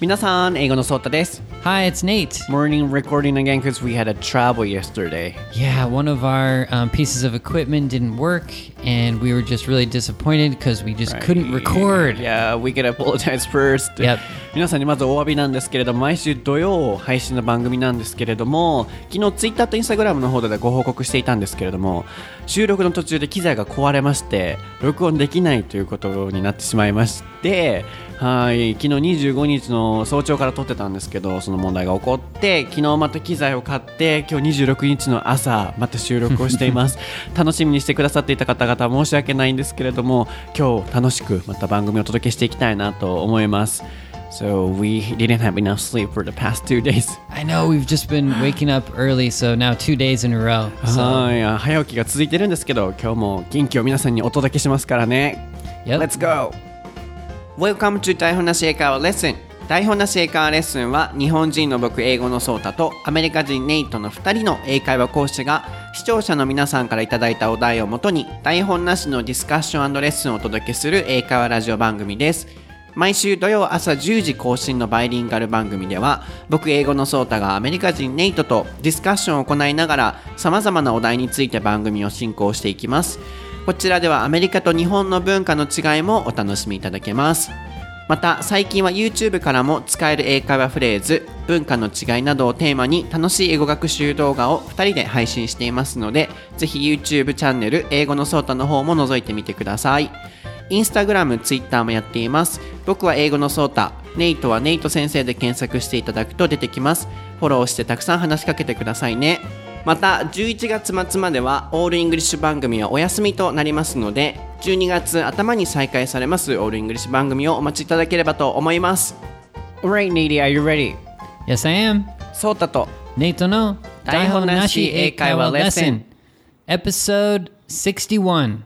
皆さん、英語のソータです。 Hi, it's Nate. Morning recording again because we had a trouble yesterday. Yeah, one of our pieces of equipment didn't work, and we were just really disappointed because we just couldn't record. Yeah, we can apologize first. Yep. 皆さんにまずお詫びなんですけれども、毎週土曜配信の番組なんですけれども、昨日 Twitter と Instagram の方でご報告していたんですけれども、収録の途中で機材が壊れまして、録音できないということになってしまいまして、はい、昨日25日の早朝から撮ってたんですけど、その問題が起こって、昨日また機材を買って、今日26日の朝また収録をしています楽しみにしてくださっていた方々申し訳ないんですけれども、今日楽しくまた番組をお届けしていきたいなと思います。So we didn't have enough sleep for the past 2 days. I know, we've just been waking up early, so now 2 days in a row. はい、早起きが続いてるんですけど、今日も元気を皆さんにお届けしますからね。 Yep. Let's go! Welcome to 台本なし英会話レッスン。台本なし英会話レッスンは日本人の僕英語のソータとアメリカ人ネイトの2人の英会話講師が視聴者の皆さんからいただいたお題をもとに台本なしのディスカッション&レッスンをお届けする英会話ラジオ番組です。毎週土曜朝10時更新のバイリンガル番組では僕英語のソータがアメリカ人ネイトとディスカッションを行いながら様々なお題について番組を進行していきます。こちらではアメリカと日本の文化の違いもお楽しみいただけます。また最近は YouTube からも使える英会話フレーズ、文化の違いなどをテーマに楽しい英語学習動画を2人で配信していますので、ぜひ YouTube チャンネル英語のソータの方も覗いてみてください。Instagram、Twitter もやっています。僕は英語のソータ、ネイトはネイト先生で検索していただくと出てきます。フォローしてたくさん話しかけてくださいね。また11月末まではオールイングリッシュ番組はお休みとなりますので、12月頭に再開されますオールイングリッシュ番組をお待ちいただければと思います。 Alright, Nate, are you ready? Yes, I am. ソータとネイトの台本なし英会話レッスン Episode 61.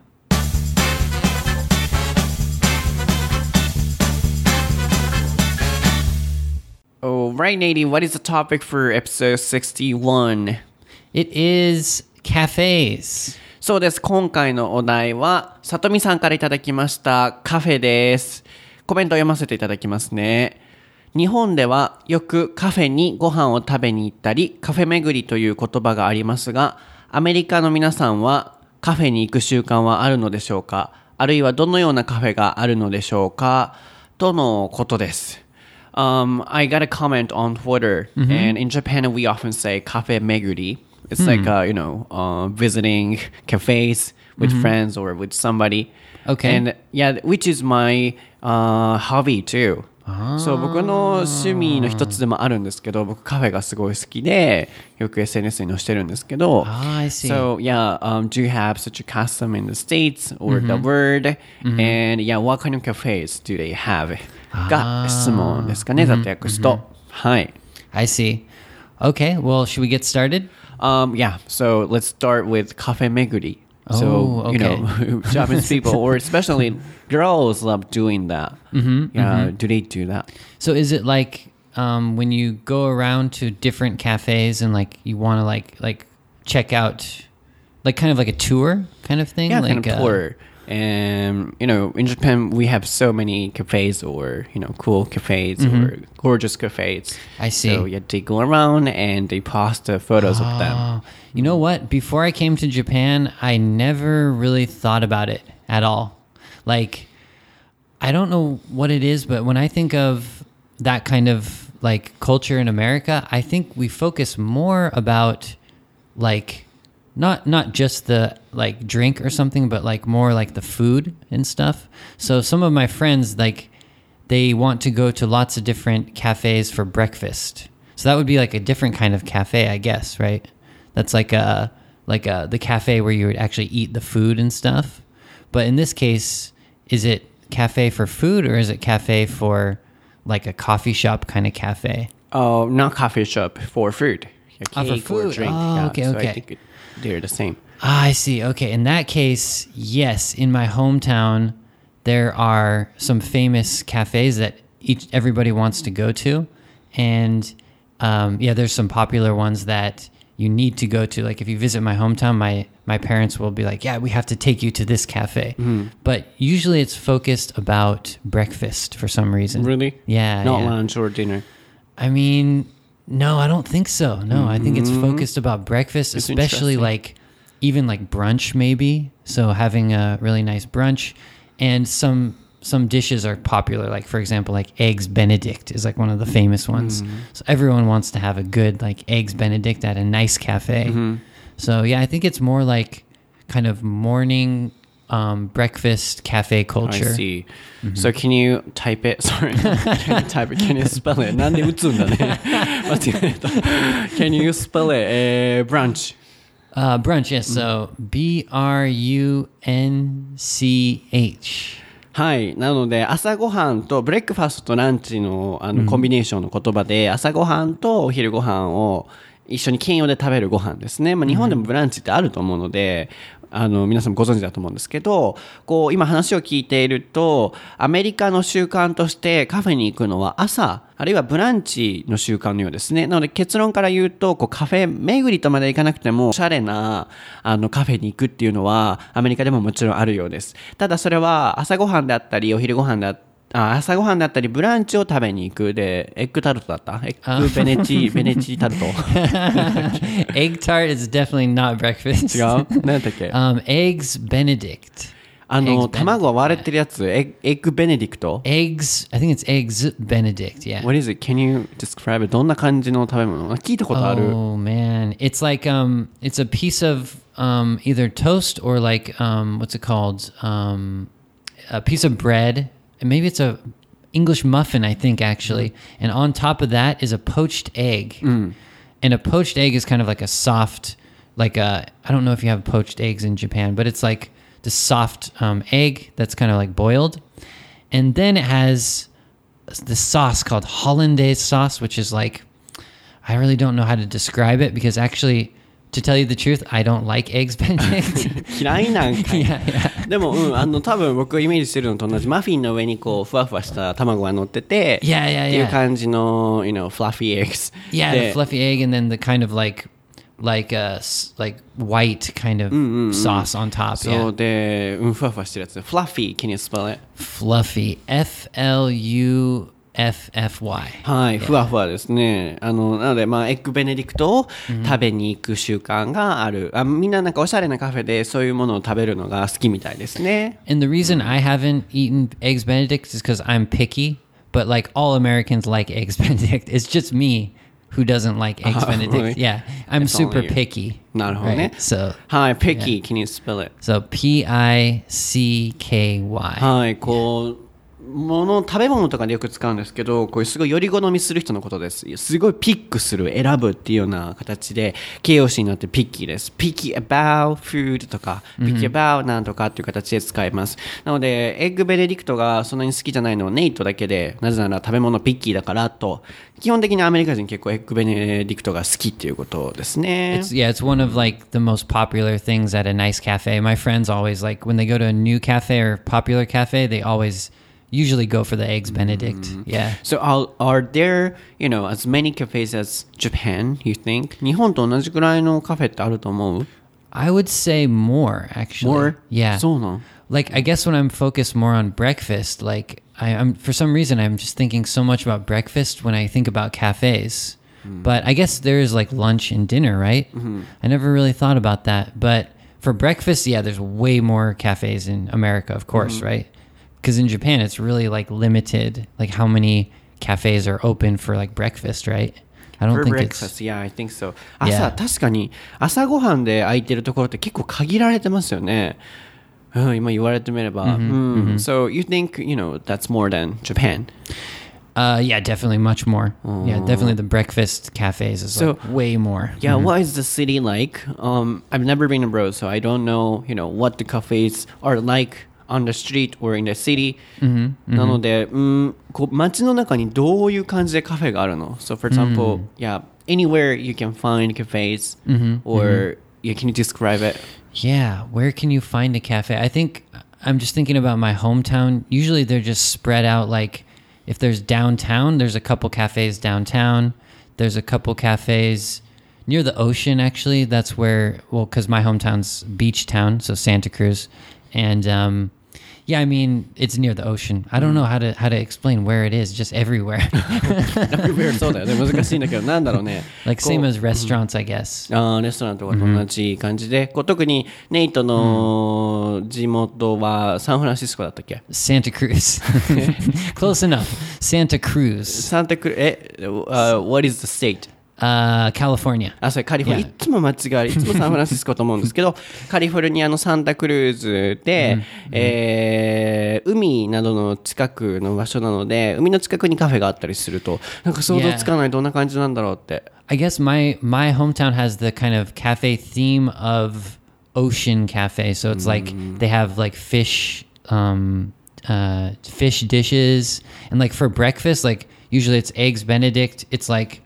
Alright, Nate, what is the topic for episode 61? It is cafes. そうです。今回のお題は、さとみさんからいただきましたカフェです。コメントを読ませていただきますね。日本ではよくカフェにご飯を食べに行ったり、カフェ巡りという言葉がありますが、アメリカの皆さんはカフェに行く習慣はあるのでしょうか？あるいはどのようなカフェがあるのでしょうか？とのことです。I got a comment on Twitter, and in Japan we often say cafe meguri.It's like, visiting cafes with friends or with somebody. Okay. And yeah, which is my hobby too. そう、僕の趣味の一つでもあるんですけど、僕カフェがすごい好きで、よく SNS に載してるんですけど。 I see. So yeah, do you have such a custom in the States or the world? And yeah, what kind of cafes do they have? が質問ですかね、ざっと訳すと。はい。 I see. Okay, well, should we get started?Yeah, so let's start with cafe meguri. Oh, okay. You know, Japanese people, or especially girls, love doing that. Do they do that? So is it like when you go around to different cafes and like you want to like check out, like kind of like a tour kind of thing? Yeah, like kind of tour. And, in Japan, we have so many cafes or, cool cafes or gorgeous cafes. I see. So, yeah, they go around and they post the photos of them. You know what? Before I came to Japan, I never really thought about it at all. Like, I don't know what it is, but when I think of that kind of, like, culture in America, I think we focus more about, like, not just the like drink or something, but like more like the food and stuff. So some of my friends, like, they want to go to lots of different cafes for breakfast. So that would be like a different kind of cafe, I guess, right? That's like the cafe where you would actually eat the food and stuff. But in this case, is it cafe for food or is it cafe for like a coffee shop kind of cafe? Oh, not coffee shop, for food. For food. Or drink. Oh, okay, so okay. I think they're the same. I see. Okay. In that case, yes. In my hometown, there are some famous cafes that everybody wants to go to. And, there's some popular ones that you need to go to. Like if you visit my hometown, my parents will be like, yeah, we have to take you to this cafe. But usually it's focused about breakfast for some reason. Really? Yeah. Not yeah. lunch or dinner. I mean, no, I don't think so. No, I think it's focused about breakfast, It's especially interesting. like even like brunch maybe. So having a really nice brunch, and some dishes are popular. Like for example, like eggs Benedict is like one of the famous ones. So everyone wants to have a good like eggs Benedict at a nice cafe. So yeah, I think it's more like kind of morning breakfast cafe I culture. see. So can you type it? Sorry. Can you type it? Can you spell it? なんで打つんだね。間違えた。Can you spell it? Brunch. Brunch, yes. So BRUNCH. はい。なので、朝ごはんとブレックファストとランチの、コンビネーションの言葉で、朝ごはんとお昼ごはんを一緒に兼用で食べるご飯ですね。まあ、日本でもブランチってあると思うので、皆さんもご存知だと思うんですけど、こう、今話を聞いていると、アメリカの習慣としてカフェに行くのは朝、あるいはブランチの習慣のようですね。なので結論から言うと、こうカフェ巡りとまで行かなくても、おしゃれな、カフェに行くっていうのは、アメリカでももちろんあるようです。ただそれは朝ごはんであったり、お昼ごはんであったり、朝ごはんだったりブランチを食べに行くでエッグタルトだったエッグベネチタルト Egg tart is definitely not breakfast. 違う何だっけ Eggs Benedict. 卵が割れてるやつエッグベネディクト Eggs, I think it's eggs Benedict, yeah. What is it? Can you describe it? どんな感じの食べ物聞いたことある Oh man, it's like it's a piece of either toast or like what's it called? A piece of bread. And maybe it's a English muffin, I think, actually. And on top of that is a poached egg. And a poached egg is kind of like a soft, like I don't know if you have poached eggs in Japan, but it's like the soft egg that's kind of like boiled. And then it has the sauce called hollandaise sauce, which is like, I really don't know how to describe it because actually, to tell you the truth, I don't like eggs Benedict. 嫌いなんかい yeah, yeah. でも、多分僕がイメージしてるのと同じマフィンの上にこうふわふわした卵が乗ってて Yeah, yeah, っていう yeah. 感じの、fluffy eggs Yeah, で the fluffy egg, and then the kind of like white kind of sauce on top. そう Yeah, で、ふわふわしてるやつ Fluffy, can you spell it? fluffy. FLUFFY. はい、ふわふわですね。なので、エッグベネディクトを食べに行く習慣がある。みんななんかおしゃれなカフェでそういうものを食べるのが好きみたいですね。 And the reason I haven't eaten eggs Benedict is because I'm picky. But like all Americans like eggs Benedict. It's just me who doesn't like eggs Benedict. Really? Yeah, I'm It's super only you. picky. なるほどね。 Right? So はい、picky, can you spell it? so PICKY. はい、こう、食べ物とかでよく使うんですけど、こういうすごいより好みする人のことです。すごいピックする、選ぶっていうような形で、形容詞になってピッキーです。picky about food とか、picky about なんとかっていう形で使います。なので、エッグベネディクトがそんなに好きじゃないのはネイトだけで、なぜなら食べ物ピッキーだからと、基本的にアメリカ人結構エッグベネディクトが好きっていうことですね。 It's one of like the most popular things at a nice cafe. My friends always like when they go to a new cafe or popular cafe, they always usually go for the eggs Benedict. Yeah. So are there, as many cafes as Japan, you think? 日本と同じくらいのカフェってあると思う I would say more actually. More? Yeah. そうなん Like I guess when I'm focused more on breakfast, like I'm for some reason I'm just thinking so much about breakfast when I think about cafes. But I guess there is like lunch and dinner, right? I never really thought about that. But for breakfast, yeah, there's way more cafes in America, of course, right? Because in Japan, it's really like limited, like how many cafes are open for like breakfast, right? I don't For think breakfast, it's. yeah, I think so. Yeah. 確かに朝ごはんで空いてるところって結構限られてますよね。今言われてみれば。So you think, that's more than Japan? Yeah, definitely much more. Yeah, definitely the breakfast cafes is So- like way more. Yeah, what is the city like? I've never been abroad, so I don't know, what the cafes are like on the street or in the city. なので、こう街の中にどういう感じでカフェがあるの So for example, yeah, anywhere you can find cafes or yeah, can you describe it? Yeah, where can you find a cafe? I think I'm just thinking about my hometown. Usually they're just spread out like if there's downtown, there's a couple cafes downtown. There's a couple cafes Near the ocean, actually. That's where, well, because my hometown's beach town, so Santa Cruz. And yeah, I mean, it's near the ocean. I don't know how to explain where it is, just everywhere. Everywhere そうだよね。難しいんだけど、なんだろうね。 Like same as restaurants, I guess. レストランとかと同じ感じで、こう特にネイトの地元はサンフランシスコだったっけ？ Santa Cruz. Close enough. Santa Cruz. サンタクル、what is the state? California. それカリフォルニア、いつも間違える、いつもサンフランシスコと思うんですけど、カリフォルニアのサンタクルーズで、海などの近くの場所なので、海の近くにカフェがあったりすると、なんか想像つかない、どんな感じなんだろうって。 I guess my hometown has the kind of cafe theme of ocean cafe. So it's like they have like fish dishes, and like for breakfast, like usually it's eggs Benedict. It's like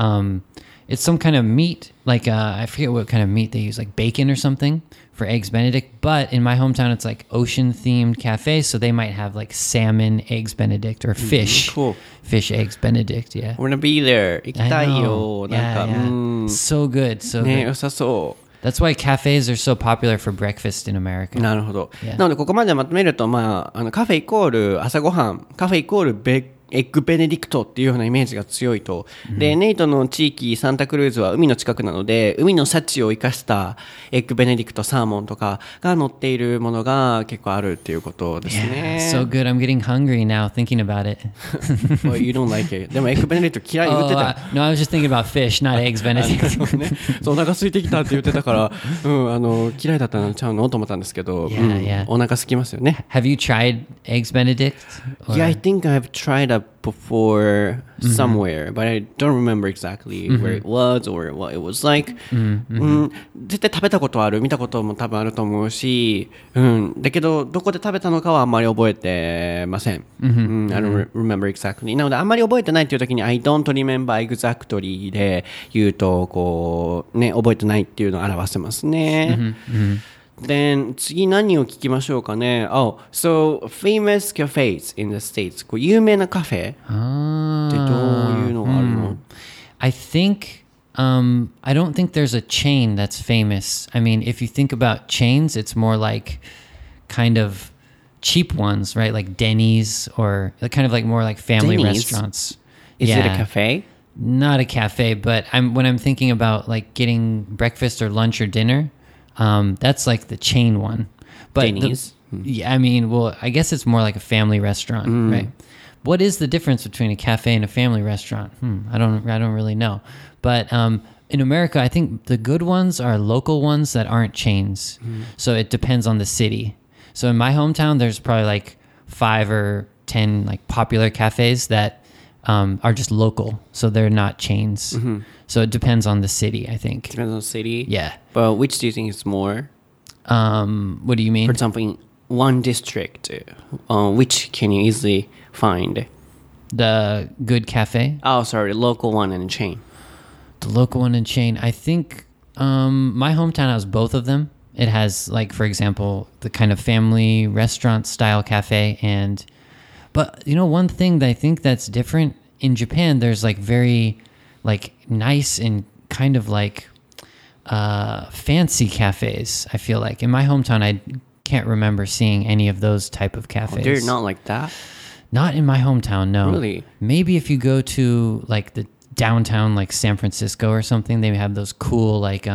it's some kind of meat, like I forget what kind of meat they use, like bacon or something for eggs Benedict. But in my hometown, it's like ocean themed cafe, so they might have like salmon eggs Benedict or fish, Cool. fish eggs Benedict. Yeah, I wanna be there. 行きたいよ。 I know. なんか、 yeah. So good, so ね、 good. 良さそう。 That's why cafes are so popular for breakfast in America. なるほど。 Yeah. なので、ここまでまとめると、カフェイコール朝ごはん、カフェイコールエッグベネディクトっていうようなイメージが強いと。で、ネイトの地域、サンタクルーズは海の近くなので、海の幸を生かしたエッグベネディクト、サーモンとかが乗っているものが結構あるっていうことですね。 So good. I'm getting hungry now thinking about it. Well, you don't like it. でもエッグベネディクト嫌い言ってた。 No, I was just thinking about fish, not eggs Benedict. ね、そうお腹空いてきたって言ってたから、嫌いだったのちゃうのと思ったんですけど、お腹空きますよね。 Have you tried eggs Benedict? Yeah, I think I've tried a before somewhere, but I don't remember exactly where it was or what it was like. 絶対食べたことある、見たことも多分あると思うし、だけどどこで食べたのかはあんまり覚えてません。I don't remember exactly. なのであんまり覚えてないっていう時に I don't remember exactly で言うとこうね覚えてないっていうのを表せますね。Then 次何を聞きましょうかね。so famous cafes in the States. こう有名なカフェってどういうのがあるの？ I think I don't think there's a chain that's famous. I mean, if you think about chains, it's more like kind of cheap ones, right? Like Denny's or kind of like more like family Denny's? restaurants. Is it a cafe? Not a cafe, but when I'm thinking about like getting breakfast or lunch or dinner, that's like the chain one. But Denny's? Yeah, I mean, well, I guess it's more like a family restaurant, right? What is the difference between a cafe and a family restaurant? I don't really know. But in America, I think the good ones are local ones that aren't chains. So it depends on the city. So in my hometown, there's probably like 5 or 10 like popular cafes that are just local. So they're not chains. So it depends on the city, I think. Depends on the city? Yeah. But which do you think is more? What do you mean? For example, in one district, which can you easily find? The good cafe? Sorry, local one and chain. The local one and chain. I think my hometown has both of them. It has, like, for example, the kind of family restaurant style cafe. But, you know, one thing that I think that's different in Japan, there's like very like nice and kind of like fancy cafes, I feel like. In my hometown, I can't remember seeing any of those type of cafes. They're not like that? Not in my hometown, no. Really? Maybe if you go to like the downtown, like San Francisco or something, they have those cool like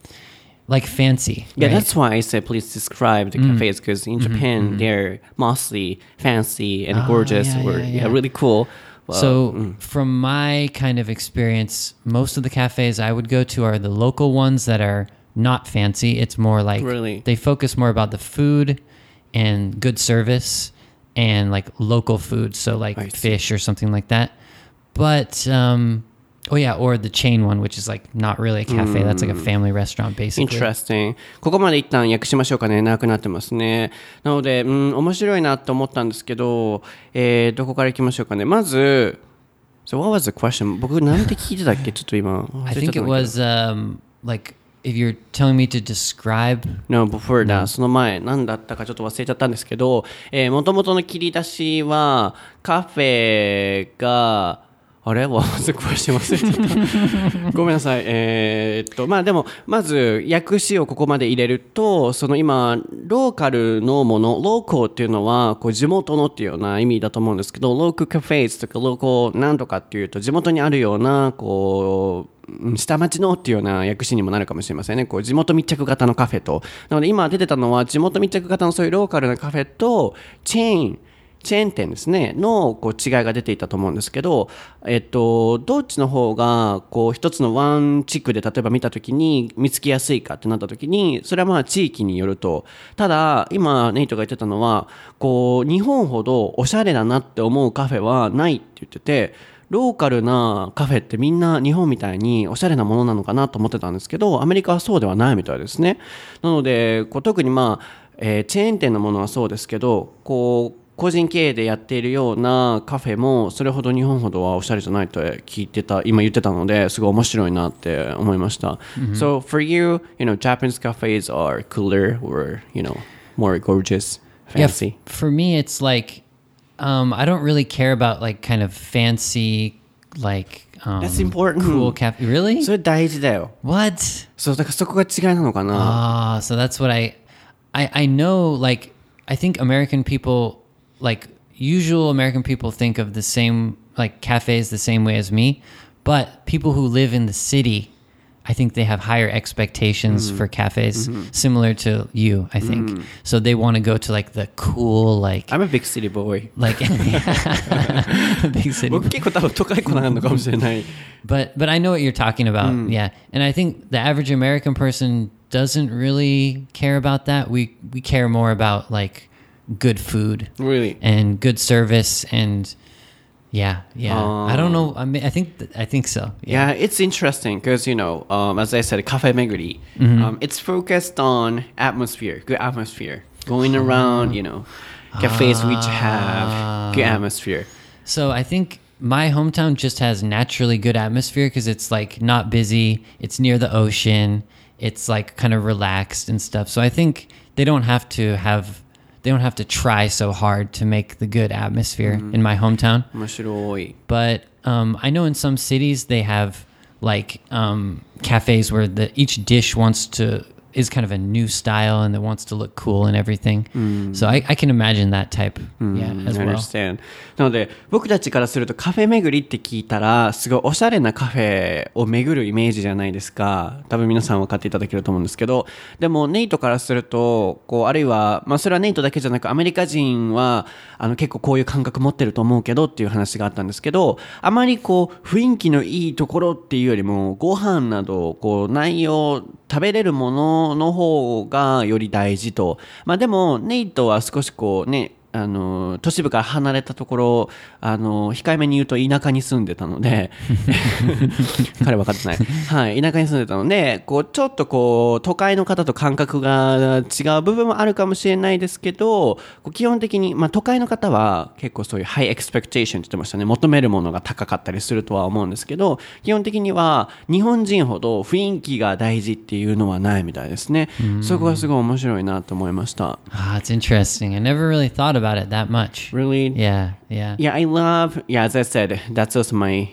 fancy. Yeah, right? that's why I said please describe the cafes, because in Japan they're mostly fancy and gorgeous, yeah. really cool. So from my kind of experience, most of the cafes I would go to are the local ones that are not fancy. It's more like they focus more about the food and good service and like local food, so like fish or something like that. But or the chain one, which is like not really a cafe. That's like a family restaurant, basically. Interesting. ここまで一旦訳しましょうかね。長くなってますね。なので、面白いなと思ったんですけど、どこから行きましょうかね。まず、So what was the question? 僕なんて聞いてたっけ？ちょっと今。 I think it was like if you're telling me to describe. No, before that. その前何だったかちょっと忘れちゃったんですけど、元々の切り出しはカフェがあれはず詳しい忘れちゃったごめんなさいまあでもまず訳詞をここまで入れるとその今ローカルのものローコーっていうのはこう地元のっていうような意味だと思うんですけどローカルカフェとかローコーなんとかっていうと地元にあるようなこう下町のっていうような訳詞にもなるかもしれませんねこう地元密着型のカフェとなので今出てたのは地元密着型のそういうローカルなカフェとチェーン店ですねのこう違いが出ていたと思うんですけど、どっちの方がこう一つのワン地区で例えば見たときに見つけやすいかってなったときにそれはまあ地域によるとただ今ネイトが言ってたのはこう日本ほどおしゃれだなって思うカフェはないって言っててローカルなカフェってみんな日本みたいにおしゃれなものなのかなと思ってたんですけどアメリカはそうではないみたいですねなのでこう特にまあ、チェーン店のものはそうですけどこう個人経営でやっているようなカフェもそれほど日本ほどはおしゃれじゃないと聞いてた今言ってたのですごい面白いなって思いました、So for you, Japanese cafes are cooler or, more gorgeous, fancy? Yeah, for me, it's like I don't really care about like kind of fancy, like That's important. cool cafe. Really? それ大事だよ What? そうだからそこが違いなのかな So that's what I know. Like I think American people, like usual American people, think of the same like cafes the same way as me, but people who live in the city, I think they have higher expectations for cafes, similar to you, I think. So they want to go to like the cool, like I'm a big city boy like big city. 僕結構多分都会子なのかもしれない But I know what you're talking about. Yeah. And I think the average American person doesn't really care about that. We care more about like good food Really? and good service and yeah. I don't know. I mean, I think so. Yeah, it's interesting because, as I said, cafe meguri, it's focused on atmosphere, good atmosphere, going around, cafes which have good atmosphere. So I think my hometown just has naturally good atmosphere because it's like not busy. It's near the ocean. It's like kind of relaxed and stuff. So I think they don't have to try so hard to make the good atmosphere in my hometown. 面白い But I know in some cities they have like cafes where each dish is kind of a new style and it wants to look cool and everything. So I can imagine that type as I well. understand. なので僕たちからするとカフェ巡りって聞いたらすごいおしゃれなカフェを巡るイメージじゃないですか多分皆さん分かっていただけると思うんですけどでもネイトからするとこうあるいは、それはネイトだけじゃなくアメリカ人は結構こういう感覚持ってると思うけどっていう話があったんですけどあまりこう雰囲気のいいところっていうよりもご飯などこう内容食べれるものの方がより大事とでもネイトは少しこうね都市部から離れたところ控えめに言うと田舎に住んでたので彼分かってない、はい、田舎に住んでたのでこうちょっとこう都会の方と感覚が違う部分もあるかもしれないですけど基本的に、都会の方は結構そういうハイエクスペクテーションって言ってましたね求めるものが高かったりするとは思うんですけど基本的には日本人ほど雰囲気が大事っていうのはないみたいですねそこがすごい面白いなと思いました It's interesting. I never really thought about it that much. Really? Yeah. Yeah, I love, as I said, that's also my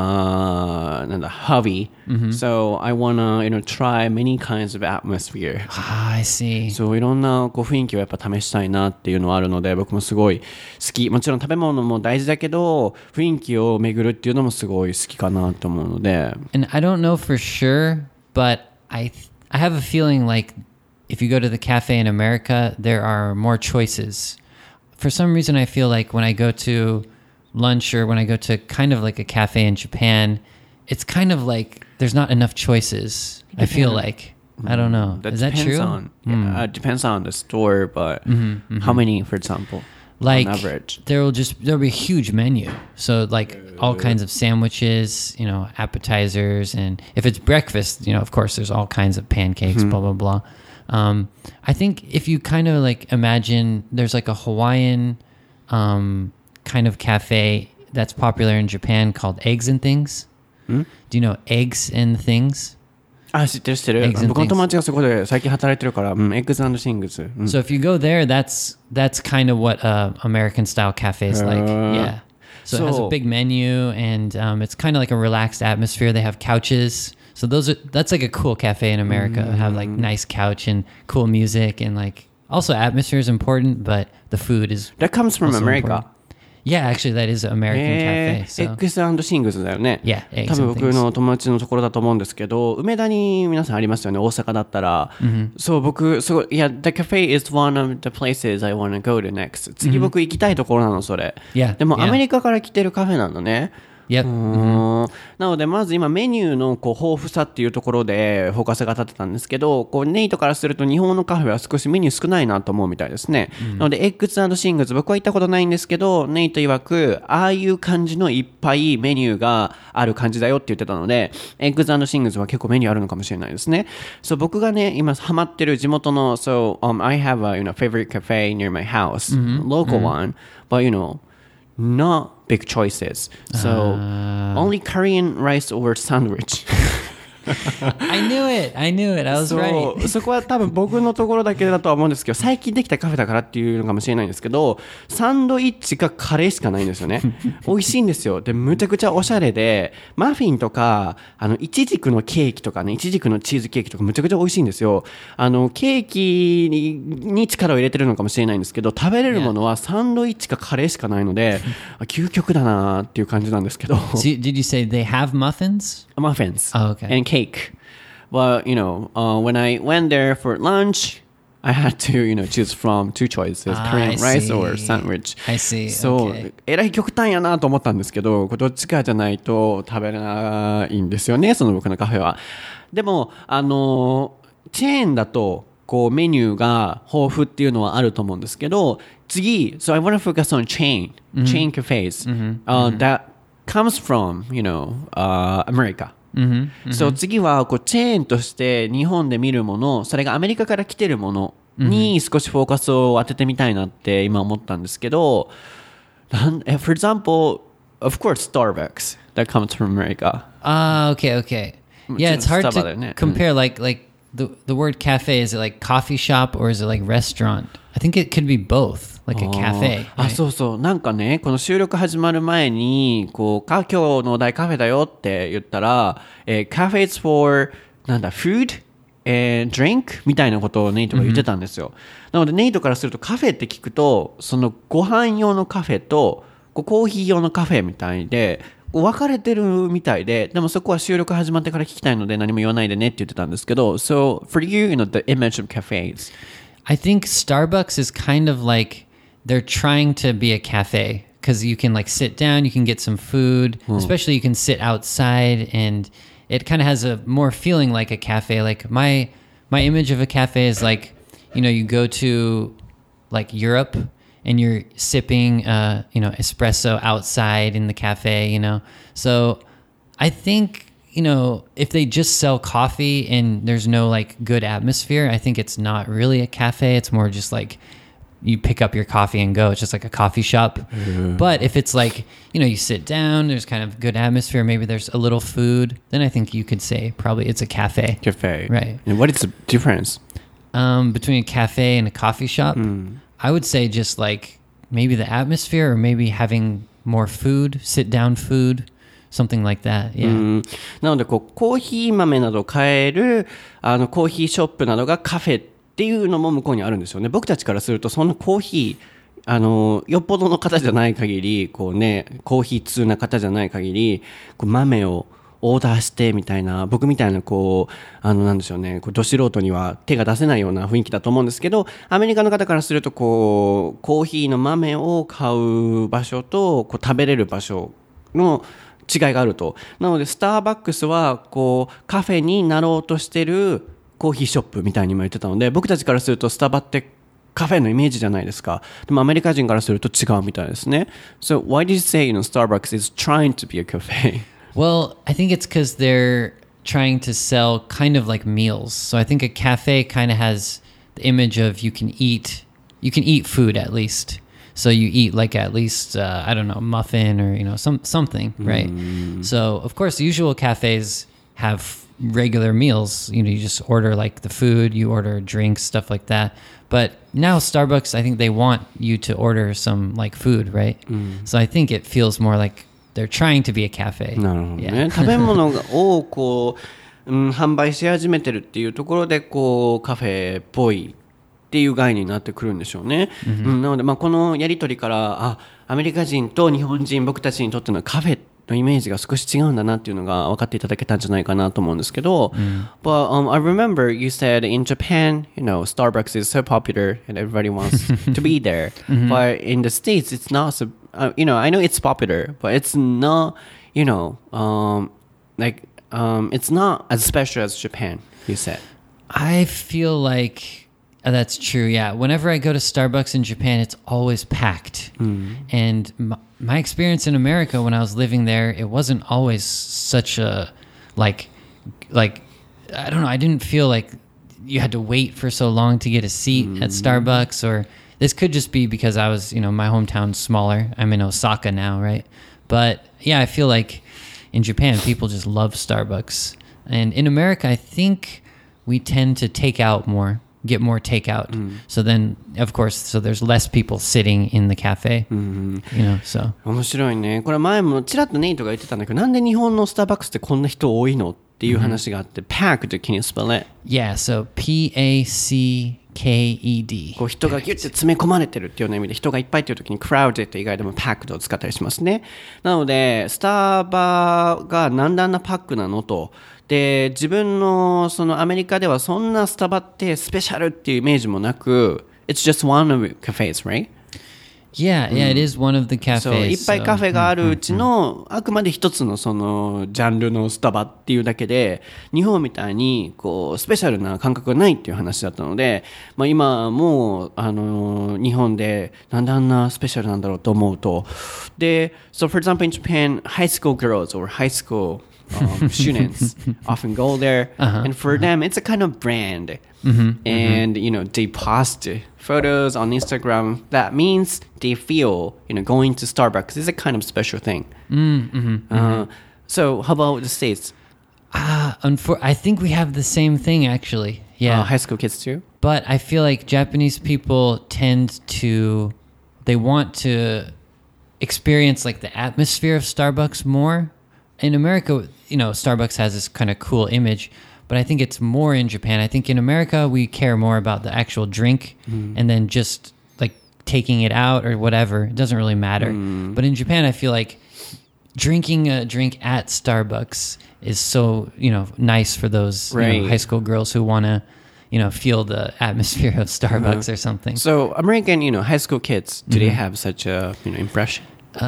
hobby. So I want to, try many kinds of atmosphere. I see. そういろんなこう雰囲気をやっぱ試したいなっていうのはあるので僕もすごい好きもちろん食べ物も大事だけど雰囲気を巡るっていうのもすごい好きかなと思うので And I don't know for sure, but I have a feeling like if you go to the cafe in America, there are more choices. For some reason, I feel like when I go to lunch or when I go to kind of like a cafe in Japan, it's kind of like there's not enough choices. I feel like. I don't know. Is that true? It depends on the store, but how many, for example, like, on average? There'll be a huge menu. So like all kinds of sandwiches, appetizers. And if it's breakfast, of course, there's all kinds of pancakes, blah, blah, blah. I think if you kind of like imagine there's like a Hawaiian kind of cafe that's popular in Japan called Eggs and Things. Do you know Eggs and Things? 知ってる僕の友達がそこで最近働いてるから、Eggs and Things、 So if you go there, that's kind of what American style cafe is like. Yeah. So it has a big menu, and it's kind of like a relaxed atmosphere. They have couches. So that's like a cool cafe in America. Have like nice couch and cool music, and like also atmosphere is important, but the food is That comes from also America. important. Yeah, actually that is an American cafe. So. Eggs& シングスだよね。 Yeah, eggs 多分 and 僕 things. の友達のところだと思うんですけど、梅田に皆さんありますよね、大阪だったら。そう、僕、すごい、いや、The cafe is one of the places I want to go to next. 次僕行きたいところなの、それ。 Yeah, でも yeah. アメリカから来てるカフェなんだね。 Yep. なのでまず今メニューのこう豊富さっていうところでフォーカスが立ってたんですけど、こうネイトからすると日本のカフェは少しメニュー少ないなと思うみたいですね。なのでエッグス&シングス、僕は行ったことないんですけど、ネイト曰くああいう感じのいっぱいメニューがある感じだよって言ってたので、エッグス&シングスは結構メニューあるのかもしれないですね。そう僕がね今ハマってる地元の I have a favorite cafe near my house, local one, but not big choices. So only Korean rice or sandwich. I knew it. I was そ right. うそこは多分僕のところだけだとは思うんですけど、最近できたカフェだからっていうのかもしれないんですけど、サンドイッチかカレーしかないんですよね。美味しいんですよ。でむちゃくちゃおしゃれで、マフィンとかイチジクのケーキとかね、イチジクのチーズケーキとかむちゃくちゃ美味しいんですよ。ケーキに力を入れてるのかもしれないんですけど、食べれるものはサンドイッチかカレーしかないので、究極だなっていう感じなんですけど。 So, did you say they have muffins? Muffins Oh, okay. and cake. Well, when I went there for lunch, I had to, choose from two choices, Korean rice or sandwich. I see. そう、 Okay. えらい極端やなと思ったんですけど、これどっちかじゃないと食べれないんですよね、その僕のカフェは。でも、チェーンだと、こうメニューが豊富っていうのはあると思うんですけど、次、so I want to focus on chain cafes that comes from, America. So 次はこうチェーンとして日本で見るもの、それがアメリカから来てるものに少しフォーカスを当ててみたいなって今思ったんですけど、for example, of course, Starbucks that comes from America. Ah, okay. Yeah, it's hard Starbucksだよね。 to compare. Like the word cafe, is it like coffee shop or is it like restaurant? I think it could be both, like a cafe. あ、 right? そうそう。なんかね、この収録始まる前に、今日のお題カフェだよって言ったら、cafes for, food and drink? みたいなことをネイトが言ってたんですよ。なのでネイトからするとカフェって聞くと、そのご飯用のカフェと、コーヒー用のカフェみたいで、分かれてるみたいで、でもそこは収録始まってから聞きたいので何も言わないでねって言ってたんですけど、So, for you, the image of cafes. I think Starbucks is kind of like they're trying to be a cafe because you can like sit down, you can get some food, especially you can sit outside, and it kind of has a more feeling like a cafe. Like my image of a cafe is like, you go to like Europe and you're sipping espresso outside in the cafe, So I think if they just sell coffee and there's no like good atmosphere, I think it's not really a cafe. It's more just like you pick up your coffee and go. It's just like a coffee shop. But if it's like, you sit down, there's kind of good atmosphere, maybe there's a little food, then I think you could say probably it's a cafe. Cafe. Right. And what is the difference? Between a cafe and a coffee shop, I would say just like maybe the atmosphere or maybe having more food, sit down food. Something like that, yeah. なのでコーヒー豆などを買えるコーヒーショップなどがカフェっていうのも向こうにあるんですよね。僕たちからするとそんなコーヒーよっぽどの方じゃない限りコーヒー通な方じゃない限り豆をオーダーしてみたいな、僕みたいななんでしょうね、ど素人には手が出せないような雰囲気だと思うんですけど、アメリカの方からするとコーヒーの豆を買う場所と食べれる場所の違いがあると。なのでスターバックスはカフェになろうとしてるコーヒーショップみたいにも言ってたので、僕たちからするとスタバってカフェのイメージじゃないですか。でもアメリカ人からすると違うみたいですね。So why did you say Starbucks is trying to be a cafe? Well, I think it's because they're trying to sell kind of like meals. So I think a cafe kind of has the image of you can eat food at least. So you eat like at least, I don't know, muffin or, something, right? So of course, usual cafes have regular meals. You just order like the food, you order drinks, stuff like that. But now Starbucks, I think they want you to order some like food, right? So I think it feels more like they're trying to be a cafe. なるほどね。食べ物をこう、販売し始めてるっていうところでこうカフェっぽいっていう概念になってくるんでしょうね。なので、このやり取りからアメリカ人と日本人僕たちにとってのカフェのイメージが少し違うんだなっていうのが分かっていただけたんじゃないかなと思うんですけど、But I remember you said in Japan, Starbucks is so popular and everybody wants to be there. But in the States, it's not so, I know it's popular, but it's not, it's not as special as Japan, you said. I feel like that's true. Yeah. Whenever I go to Starbucks in Japan, it's always packed. And my experience in America when I was living there, it wasn't always such a like I don't know. I didn't feel like you had to wait for so long to get a seat at Starbucks, or this could just be because I was, my hometown's smaller. I'm in Osaka now, right? But yeah, I feel like in Japan, people just love Starbucks. And in America, I think we tend to take out more. Get more takeout. So then, of course, so there's less people sitting in the cafe. So. 面白いね。これ前もちらっとネイトが言ってたんだけど、なんで日本のスターバックスってこんな人多いのっていう話があって、packed, can you spell it? Yeah, so P-A-C-K-E-D. こう人がギュッて詰め込まれてるっていうような意味で、人がいっぱいっていう時に crowded って以外でも packed を使ったりしますね。なので、スターバがなんであんなパックなのと。で、自分のそのアメリカではそんなスタバってスペシャルっていうイメージもなく、It's just one of the cafes, right? Yeah, it is one of the cafes. そう、いっぱいカフェがあるうちの、あくまで一つのそのジャンルのスタバっていうだけで、日本みたいにこうスペシャルな感覚がないっていう話だったので、今もう日本でなんであんなスペシャルなんだろうと思うと、で、so for example in Japan, high school girls or high school students often go there, and for them it's a kind of brand. And they post photos on Instagram. That means they feel going to Starbucks is a kind of special thing. So how about the States? I think we have the same thing actually. Yeah, high school kids too. But I feel like Japanese people they want to experience like the atmosphere of Starbucks more. In America, Starbucks has this kind of cool image, but I think it's more in Japan. I think in America, we care more about the actual drink and then just like taking it out or whatever. It doesn't really matter. But in Japan, I feel like drinking a drink at Starbucks is so, nice for those high school girls who want to, feel the atmosphere of Starbucks or something. So American, high school kids, do they have such a, impression?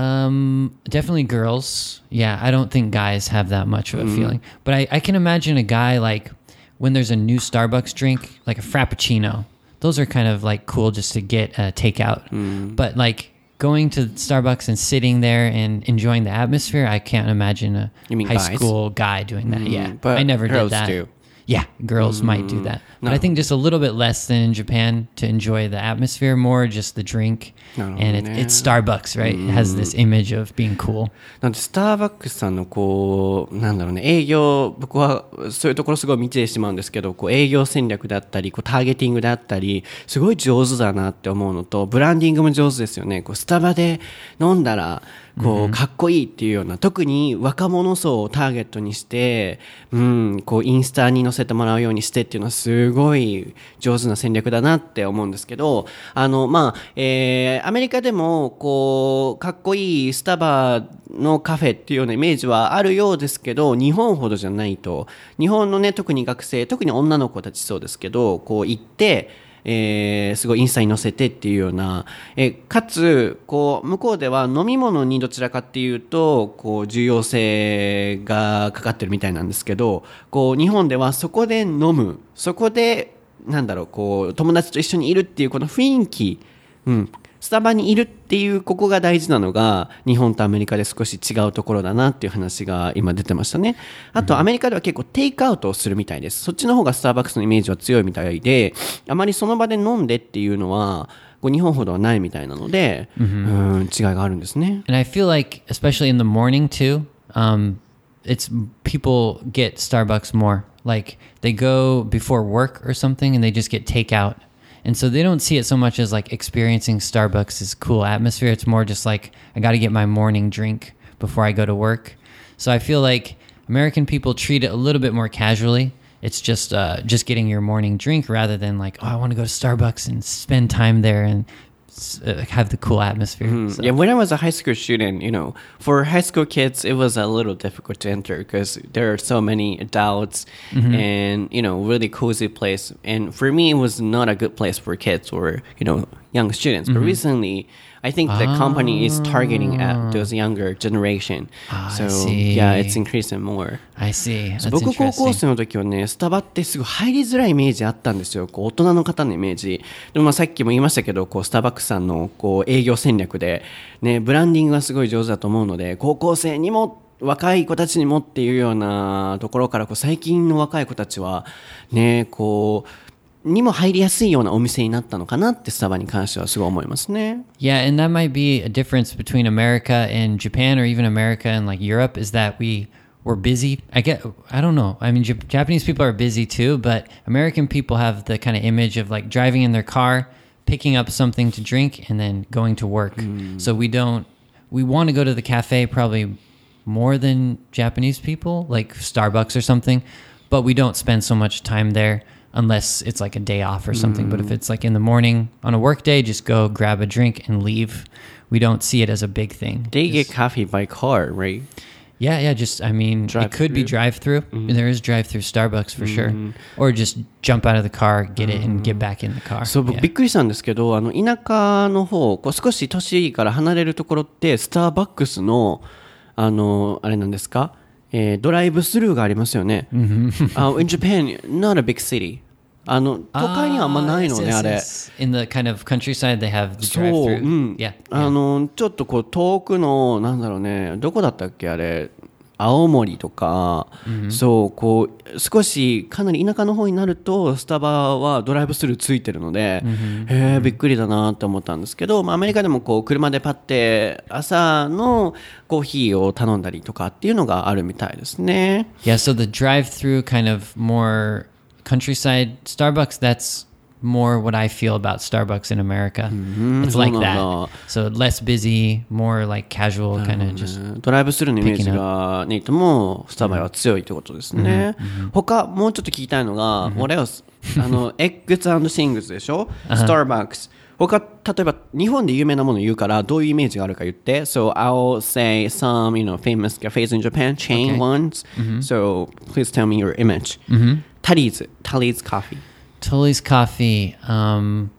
Definitely girls. Yeah, I don't think guys have that much of a feeling. But I can imagine a guy like when there's a new Starbucks drink, like a Frappuccino. Those are kind of like cool just to get takeout. But like going to Starbucks and sitting there and enjoying the atmosphere, I can't imagine a high school guy doing that. Yeah, but I never did that. Do. Yeah, girls might do that. But I think just a little bit less than in Japan to enjoy the atmosphere, more just the drink. And it's Starbucks, right? It has this image of being cool. なんでスターバックスさんのこう営業、僕はそういうところすごい見てしまうんですけど、こう営業戦略だったり、こうターゲティングだったり、すごい上手だなって思うのと、ブランディングも上手ですよね。こうスタバで飲んだらこうかっこいいっていうような、特に若者層をターゲットにして、こうインスタに載せてもらうようにしてっていうのはすごい上手な戦略だなって思うんですけど、アメリカでもこうかっこいいスタバのカフェっていうようなイメージはあるようですけど、日本ほどじゃないと。日本のね、特に学生、特に女の子たちそうですけど、こう行ってすごいインスタに載せてっていうような、かつこう向こうでは飲み物にどちらかっていうとこう重要性がかかってるみたいなんですけど、こう日本ではそこで飲む、そこでこう友達と一緒にいるっていうこの雰囲気、スタバにいるっていうここが大事なのが日本とアメリカで少し違うところだなっていう話が今出てましたね。あとアメリカでは結構テイクアウトをするみたいです。そっちの方がスターバックスのイメージは強いみたいで、あまりその場で飲んでっていうのはこう日本ほどはないみたいなので、違いがあるんですね。 And I feel like especially in the morning too, it's people get Starbucks more. Like they go before work or something and they just get takeout. And so they don't see it so much as like experiencing Starbucks' cool atmosphere. It's more just like, I got to get my morning drink before I go to work. So I feel like American people treat it a little bit more casually. It's just getting your morning drink rather than like, oh, I want to go to Starbucks and spend time there and have the cool atmosphere. So. Yeah, when I was a high school student, for high school kids, it was a little difficult to enter because there are so many adults and, really cozy place. And for me, it was not a good place for kids or, young students. But recently, I think the company is targeting at those younger generation. So, I see. yeah, it's increasing more. I see. That's 僕高校 interesting. 生の時はね、スタバってすごい入りづらいイメージあったんですよ。大人の方のイメージ。でもさっきも言いましたけど、スターバックスさんの営業戦略で、ね、ブランディングがすごい上手だと思うので、高校生にも若い子たちにもっていうようなところから最近の若い子たちはね、にも入りやすいようなお店になったのかなってスタバに関してはすごい思いますね。 Yeah, and that might be a difference between America and Japan, or even America and like Europe, is that we're busy. I don't know. I mean, Japanese people are busy too, but American people have the kind of image of like driving in their car, picking up something to drink, and then going to work. So we want to go to the cafe probably more than Japanese people, like Starbucks or something, but we don't spend so much time there. Unless it's like a day off or something. But if it's like in the morning on a work day, just go grab a drink and leave. We don't see it as a big thing. They get coffee by car, right? Yeah. It could be drive-through. There is drive-through Starbucks for sure. Or just jump out of the car, get it, and get back in the car. そう、僕びっくりしたんですけど、田舎の方、少し都市から離れるところって、スターバックスの、あれなんですか、ドライブスルーがありますよね。In Japan, not a big city. 都会にはあんまないのね、あれ。 In the kind of countryside, they have the そう、 drive-through. Yeah. ちょっと遠くの、なんだろうね、どこだったっけ、あれ。青森とか、そう少しかなり田舎の方になるとスタバはドライブスルーついてるので、びっくりだなって思ったんですけど、アメリカでも車でパッて朝のコーヒーを頼んだりとかっていうのがあるみたいですね。 Yeah, so the drive-through kind of more countryside Starbucks, that's more what I feel about Starbucks in America. It's like that. So less busy, more like casual kind of just. ドライブスルーのイメージがネイトもスタバは強いってことですね。他もうちょっと聞きたいのが、what else? Eggs and things でしょ Starbucks。他、例えば日本で有名なもの言うからどういうイメージがあるか言って。So I'll say some, famous cafes in Japan, chain ones. So please tell me your image. Tully's Coffee. Tully's Coffee. Man,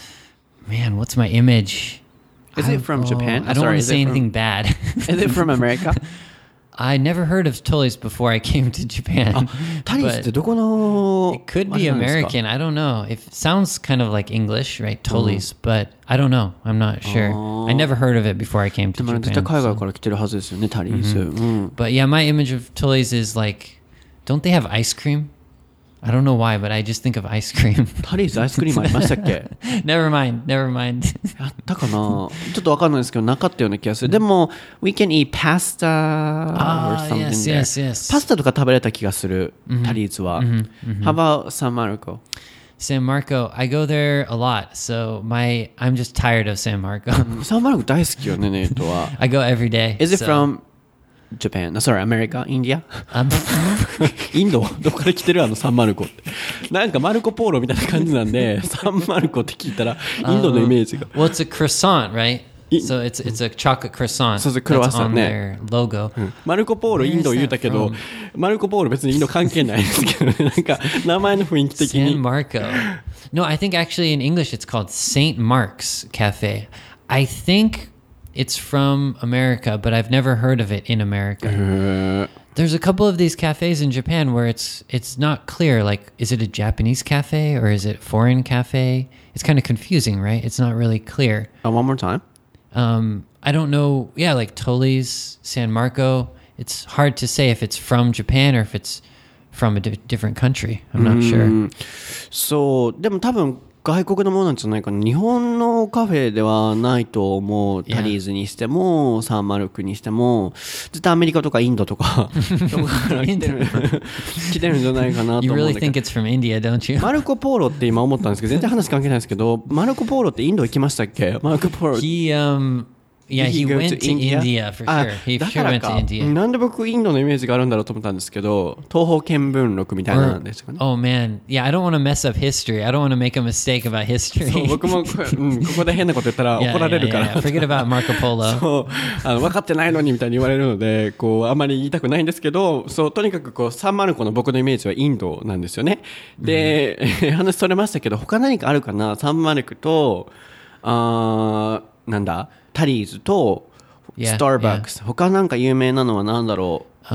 what's my image? Is it from Japan? I don't want to say anything bad. Is it from America? I never heard of Tully's before I came to Japan. Tully's ってどこの It could be American. I don't know. It sounds kind of like English, right? Tully's, but I don't know. I'm not sure. I never heard of it before I came to でも Japan. 絶対海外から来てるはずですよね、Tully's。 But yeah, my image of Tully's is like, don't they have ice cream? I don't know why, but I just think of ice cream. Tully's アイスクリームありましたっけ Never mind. あったかなちょっとわかんないですけど、なかったような気がする。でも、we can eat pasta or something there. yes. パスタとか食べれた気がする、Tully's は。How about San Marco? San Marco, I go there a lot. So I'm just tired of San Marco. サンマルコ大好きよね、ネイトは。 I go every day. Is it so- from Japan? Sorry, America? India? インドどこから来てるサンマルコって。なんかマルコポーロみたいな感じなんで、サンマルコって聞いたら、インドのイメージが。 Well, it's a croissant, right? So it's a chocolate croissant. そうそう、クロワッ that's サン on ね。 their logo. マルコポーロインド言うたけど、マルコポーロ別にインド関係ないですけど、なんか名前の雰囲気的 San に。 Marco. No, I think actually in English it's called St. Mark's Cafe. I think it's from America, but I've never heard of it in America. There's a couple of these cafes in Japan where it's not clear, like, is it a Japanese cafe or is it foreign cafe? It's kind of confusing, right? It's not really clear. One more time. I don't know. Yeah, like Tully's, San Marco. It's hard to say if it's from Japan or if it's from a different country. I'm not sure. そう、でも多分外国のものなんじゃないかな。日本のカフェではないと思う。 Yeah. タリーズにしてもサンマルクにしても絶対アメリカとかインドとかどこから来てる来てるんじゃないかなと You 思うん really だけ think ど it's from India, don't you? マルコ・ポーロって今思ったんですけど全然話関係ないですけどマルコ・ポーロってインド行きましたっけ？マルコ・ポーロ He go went to India for あ sure. He だ sure から went か to India. なんで僕インドのイメージがあるんだろうと思ったんですけど東方見聞録みたいなんですかね。 Oh man, yeah. I don't want to mess up history. I don't want to make a mistake about そう history. 僕も、ここで変なこと言ったら Yeah, 怒られる yeah, から yeah, yeah. Forget about Marco Polo. そう分かってないのにみたいに言われるのでこうあまり言いたくないんですけどそうとにかくこうサンマルコの僕のイメージはインドなんですよね。で、話それましたけど他何かあるかな。サンマルクとなんだタリーズと Yeah, スターバックス、他なんか有名なのは何だろう。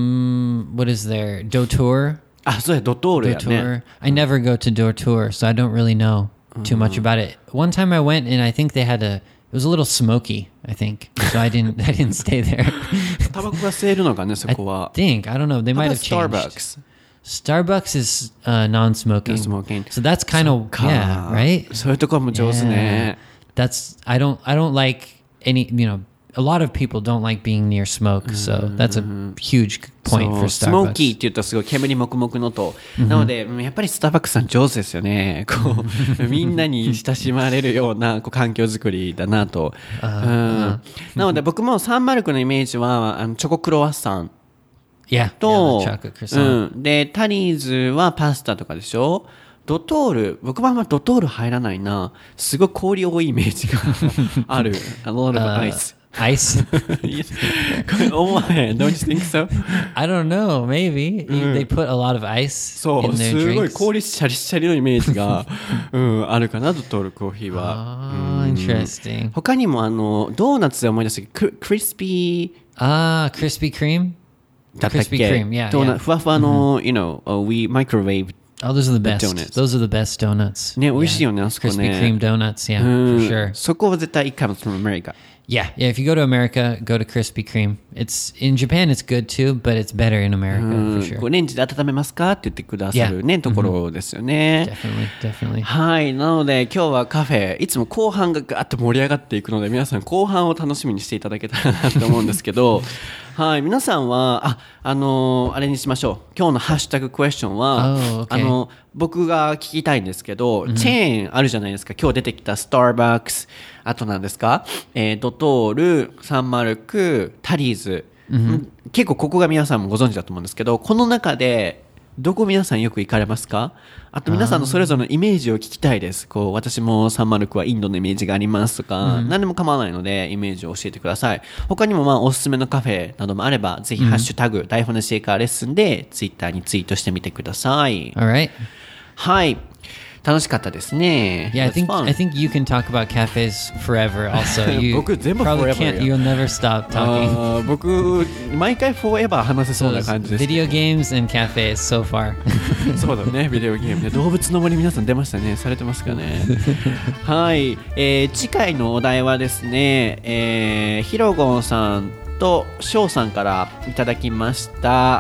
What is there? Dotour. あ、そうやドトールや Dotour. ね。 I never go to Dotour, so I don't really know too much about it. One time I went and I think they had it was a little smoky, I think. So I didn't stay there. タバコが吸えるのかねそ I こは。 think, I don't know. They might have How about changed. Starbucks? Starbucks is non-smoking. Non-smoking. So that's kind of か yeah, right? そういうところも上手ね。 That's I don't like any, a lot of people don't like being near smoke, so that's a huge point そう for スモーキー Starbucks. って言うとすごい煙もくもくのと、なのでやっぱりスターバックスさん上手ですよね。こうみんなに親しまれるようなこう環境づくりだなと、なので僕もサンマルクのイメージはチョコクロワッサン Yeah, と、 yeah, the chocolate croissant. でタリーズはパスタとかでしょ。ドトール僕はあんまドトール入らないな。すごい氷多いイメージがある。A lot of ice Ice? 思わへん Don't you think so? I don't know. Maybe they put a lot of ice そう in their すごい drinks. 氷シャリシャリのイメージが、あるかなドトールコーヒーは。 Oh, interesting. 他にもドーナツで思い出したけどクリスピ Krispy Kreme. ーだったっけ Krispy Kreme, yeah, ドーナ yeah. ふわふわの、we microwave Oh, those are the best. donuts. Those are the best donuts. ね美味しいよねあそこね。 Krispy Kreme donuts, yeah, for sure. そこは絶対comes from America. Yeah, if you go to America, go to Krispy Kreme. It's in Japan, it's good too, but it's better in America for こう sure. レンジで温めますかって言ってくださるね、ところですよね。 Definitely. はいなので今日はカフェいつも後半がガーッと盛り上がっていくので皆さん後半を楽しみにしていただけたらなと思うんですけどはい皆さんはあれにしましょう。今日のハッシュタグクエスチョンは、 Oh, okay. 僕が聞きたいんですけど、チェーンあるじゃないですか。今日出てきたスターバックスあとなんですか、ドトールサンマルクタリーズ、結構ここが皆さんもご存知だと思うんですけどこの中でどこ皆さんよく行かれますか？あと皆さんのそれぞれのイメージを聞きたいです。こう私もサンマルクはインドのイメージがありますとか、何でも構わないのでイメージを教えてください。他にもおすすめのカフェなどもあればぜひハッシュタグ、台本のシェイカーレッスンでツイッターにツイートしてみてください。 All right. はい楽しかったですね。 Yeah, It was fun. I think you can talk about cafes forever. Also, you 僕全部 probably forever can't. よ。 You'll never stop talking. 僕毎回フォーエバー話せそう So な it's 感じです。 video games and cafes so far. そうだね、ビデオゲームね。動物の森皆さん出ましたね。されてますかね。はい、次回のお題はですね、ヒロゴンさんとショウさんからいただきました、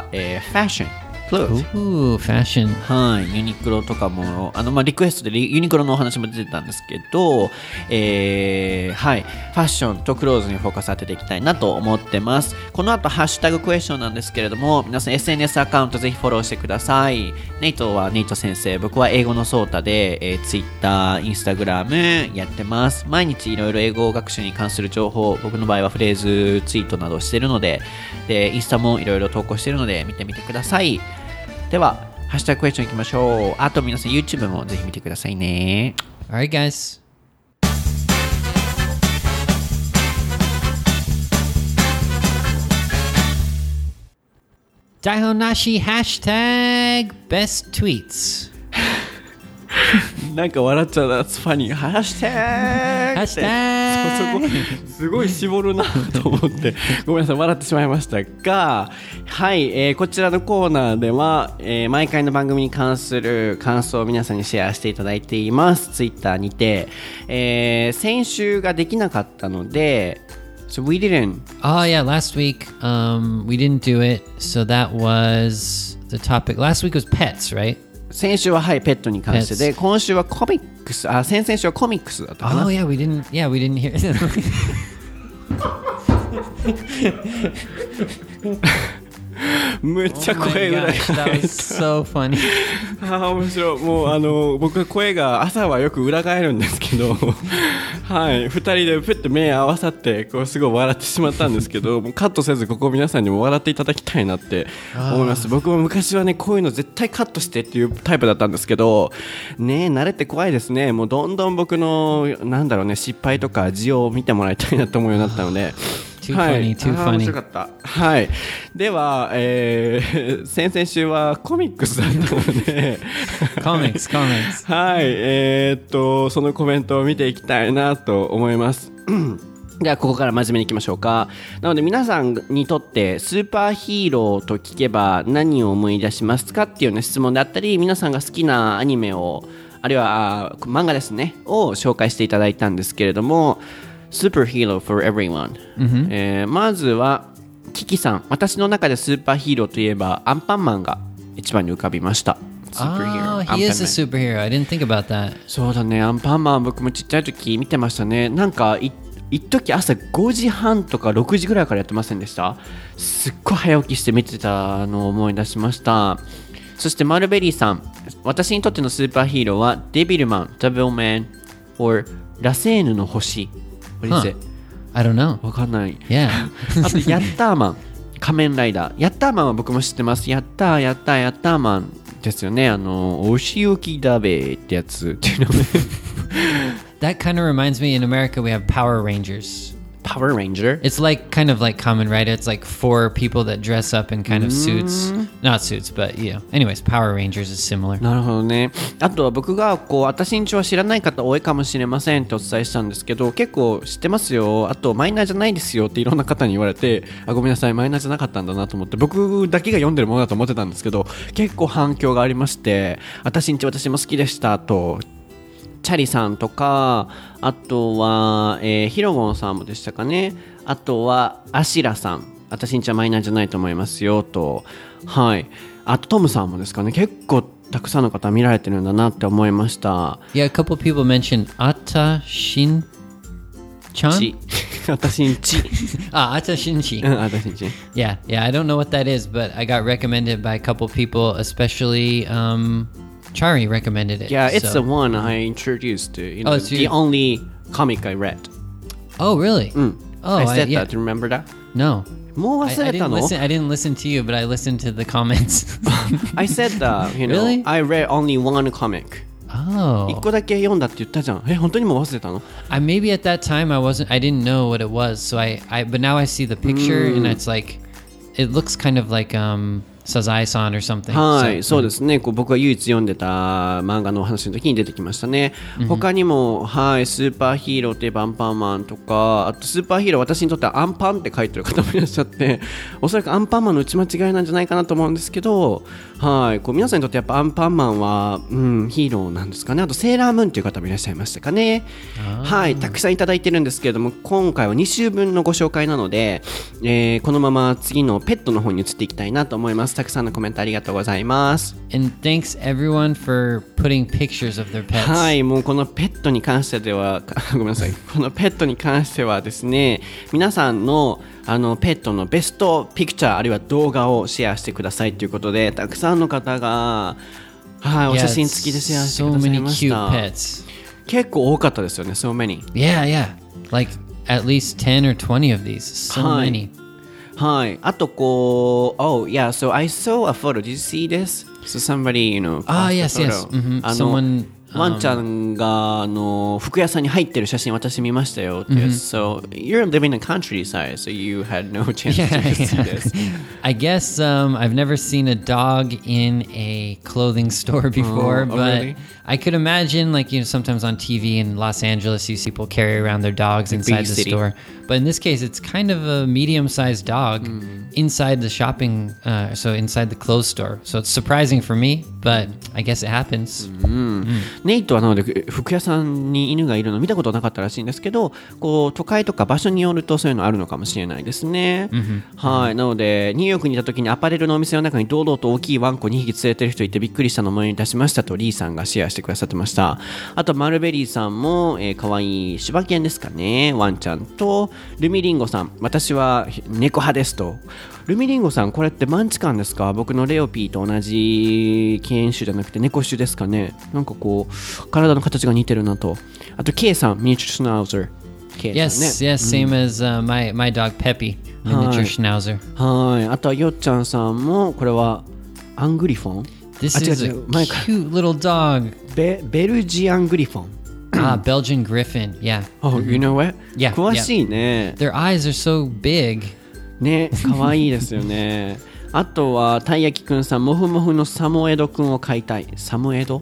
ファッション。 Ooh, fashion. はい、ユニクロとかもリクエストでユニクロのお話も出てたんですけど、はい、ファッションとクローズにフォーカス当てていきたいなと思ってます。この後ハッシュタグクエスチョンなんですけれども皆さん SNS アカウントぜひフォローしてください。ネイトはネイト先生、僕は英語のソータで、Twitter、Instagram やってます。毎日いろいろ英語学習に関する情報、僕の場合はフレーズツイートなどしているので、インスタもいろいろ投稿しているので見てみてください。ではハッシュタグクエスチョンいきましょう。あと皆さん YouTube もぜひ見てくださいね。 All right, guys. Daihonashi hashtag best tweets. なんか笑っちゃうな。That's funny。ハッシュタグハッシュタグそこすごい絞るなと思ってごめんなさい笑ってしまいましたが、はい、こちらのコーナーでは、毎回の番組に関する感想を皆さんにシェアしていただいています。ツイッターにて、先週ができなかったのでSo we didn't. Oh yeah, last week we didn't do it. So that was the topic. Last week was pets, right? 先週ははいペットに関してで、今週はコミックス、先々週はコミックスだったかな。 Oh yeah, we didn't hear. むっちゃ声裏が That was so funny. 面白い。もう僕は声が朝はよく裏返るんですけどはい2人でプッと目合わさってこうすごい笑ってしまったんですけど、もうカットせずここ皆さんにも笑っていただきたいなって思います。僕も昔はねこういうの絶対カットしてっていうタイプだったんですけどね、慣れて怖いですね。もうどんどん僕のなんだろうね失敗とか字を見てもらいたいなと思うようになったので Too funny, too 面 funny. 白かった。はい。では、先々週はコミックスだったので Comics. はい。そのコメントを見ていきたいなと思います。ではここから真面目にいきましょうか。なので皆さんにとってスーパーヒーローと聞けば何を思い出しますかっていうような質問であったり、皆さんが好きなアニメをあるいは漫画ですねを紹介していただいたんですけれども、Superhero for everyone、まずはキキさん、私の中でスーパーヒーローといえばアンパンマンが一番に浮かびました。 Oh, he is a superhero. I didn't think about that. そうだね、アンパンマン僕もちっちゃい時見てましたね。なんか一時朝5時半とか6時ぐらいからやってませんでした？すっごい早起きして見てたのを思い出しました。そしてマルベリーさん、私にとってのスーパーヒーローはデビルマン、ダブルマン or ラセーヌの星。What is it? I don't know. わかんない。 Yeah. あとヤッターマン、仮面ライダー。ヤッターマンは僕も知ってます。ヤッターマンですよね。お仕置きだべってやつっていうのね。 That kind of reminds me, in America we have Power Rangers. Power Ranger? It's like kind of like Kamen Rider. It's like 4 people that dress up in kind of suits. Not suits, but yeah. Anyways, Power Rangers is similar. なるほどね。あとは僕が私んちは知らない方多いかもしれませんってお伝えしたんですけど、結構知ってますよ。あとマイナーじゃないですよっていろんな方に言われて、ごめんなさい、マイナーじゃなかったんだなと思って、僕だけが読んでるものだと思ってたんですけど、結構反響がありまして、私も好きでしたと。チャリさんとか、あとは、ヒロゴンさんもでしたかね。あとはアシラさん、私んちはマイナーじゃないと思いますよと。はい。あとトムさんもですかね。結構たくさんの方見られてるんだなって思いました。 Yeah, a couple people mentioned Ata Shin-chan? 私んち。 Ata Shin-chi. 私んち。 Yeah, I don't know what that is, but I got recommended by a couple people, especially Chari recommended it. Yeah, it's so. the one I introduced. It's the only comic I read. Oh, really? Oh, I said yeah. that. Remember that? No. もう忘れたの? I didn't listen to you, but I listened to the comments. I said that. Really? I read only one comic. Oh. 一個だけ読んだって言ったじゃん。本当にもう忘れたの? Maybe at that time I didn't know what it was. So but now I see the picture and it's like, it looks kind of like Sazai-san or something. はい、そうですね。僕が唯一読んでた漫画のお話の時に出てきましたね。他にも、はい、スーパーヒーローといえばアンパンマンとか、あとスーパーヒーロー私にとってはアンパンって書いてる方もいらっしゃって、おそらくアンパンマンの打ち間違いなんじゃないかなと思うんですけど、はい、皆さんにとってやっぱアンパンマンは、ヒーローなんですかね。あとセーラームーンという方もいらっしゃいましたかね。はい、たくさんいただいてるんですけれども、今回は2週分のご紹介なので、このまま次のペットの方に移っていきたいなと思います。たくさんのコメントありがとうございます。 And thanks everyone for putting pictures of their pets. はい、もうこのペットに関してはごめんなさい。このペットに関してはですね、皆さんのペットのベストピクチャーあるいは動画をシェアしてくださいということで、たくさんの方が、はい、お写真付きでシェアしてくださいました。 So many cute pets. 結構多かったですよね。So many. Yeah. Like at least 10 or 20 of these. So many. はい。あとoh yeah, so I saw a photo. Did you see this? So somebody, yes. Someone ワンちゃんが服屋さんに入ってる写真私見ましたよって。So you're living in countryside, so you had no chance to see this. I guess I've never seen a dog in a clothing store before, but really? I could imagine, like, sometimes on TV in Los Angeles, you see people carry around their dogs inside the store. But in this case, it's kind of a medium-sized dog inside the shopping, so inside the clothes store. So it's surprising for me, but I guess it happens. ネイトはなので服屋さんに犬がいるの見たことなかったらしいんですけど、こう都会とか場所によるとそういうのあるのかもしれないですね。はい、なのでニューヨークにいた時にアパレルのお店の中に堂々と大きいワンコ2匹連れてる人いてびっくりしたのを思い出しましたとリーさんがシェアしてくださってました。あとマルベリーさんも、可愛い柴犬ですかね、ワンちゃんと。ルミリンゴさん、私は猫派ですと。ルミリンゴさん、これってマンチカンですか？僕のレオピーと同じ犬種じゃなくて猫種ですかね。なんかこう体の形が似てるなと。あと K さん、ミニチュアシュナウザー。 Yes, same as my dog Peppy, miniature schnauzer. はい。あとはよっちゃんさんも、これはアングリフォン。 This is a cute little dog. ベルジアングリフォン。 Belgian Griffin, yeah. Oh, you know what? Yeah, 詳しいね。 Their eyes are so big. ね、可愛いですよね。あとはたいやきくんさん、モフモフのサモエドくんを飼いたい。サモエド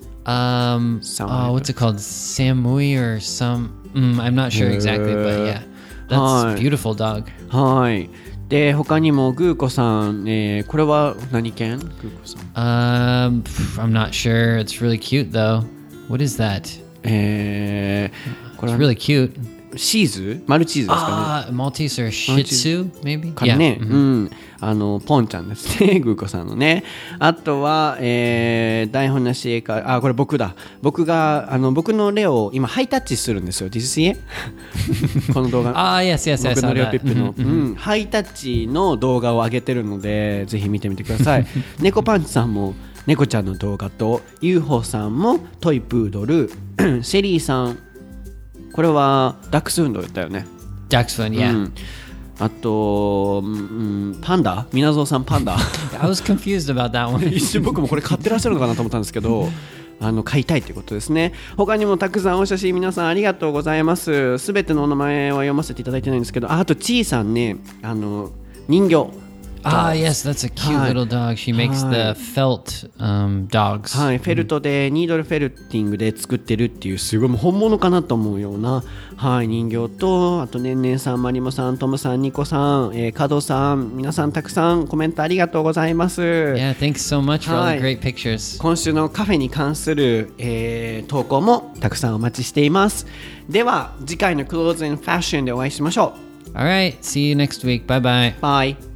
what's it called? Samui or some? I'm not sure exactly, but yeah, that's a beautiful dog. はい。で、他にもグーコさん、これは何犬？グーコさん。 I'm not sure. It's really cute though. What is that? これは It's really cute. シーズ？マルチーズですかね。 Maltese or Shih Tzu, maybe? かね、ポンちゃんですね、グーコさんのね。あとは、台本なし絵か、これ僕だ。僕のレオを今ハイタッチするんですよ。Did you see it? この動画。 yes, 僕のレオピップの、ハイタッチの動画を上げてるので、ぜひ見てみてください。猫パンチさんも猫ちゃんの動画と、UFO さんもトイプードル、シェリーさん、これはダックスフンドだったよね。 ダックスフンド、yeah. あと、パンダ、みなぞうさんパンダ。 I was confused about that one. 一瞬僕もこれ買ってらっしゃるのかなと思ったんですけど、買いたいということですね。他にもたくさんお写真皆さんありがとうございます。すべてのお名前は読ませていただいてないんですけど、あとちーさんね、人形。 yes, that's a cute little dog. She makes the felt dogs. はい、フェルトでニードルフェルティングで作ってるっていうすごいもう本物かなと思うような、はい、人形と、あとねんねんさん、まりもさん、トムさん、ニコさん、カドさん、皆さんたくさんコメントありがとうございます。 Yeah, thanks so much for all the great pictures. 今週のカフェに関する、投稿もたくさんお待ちしています。では次回のクローズンファッションでお会いしましょう。 Alright, see you next week. Bye bye. Bye.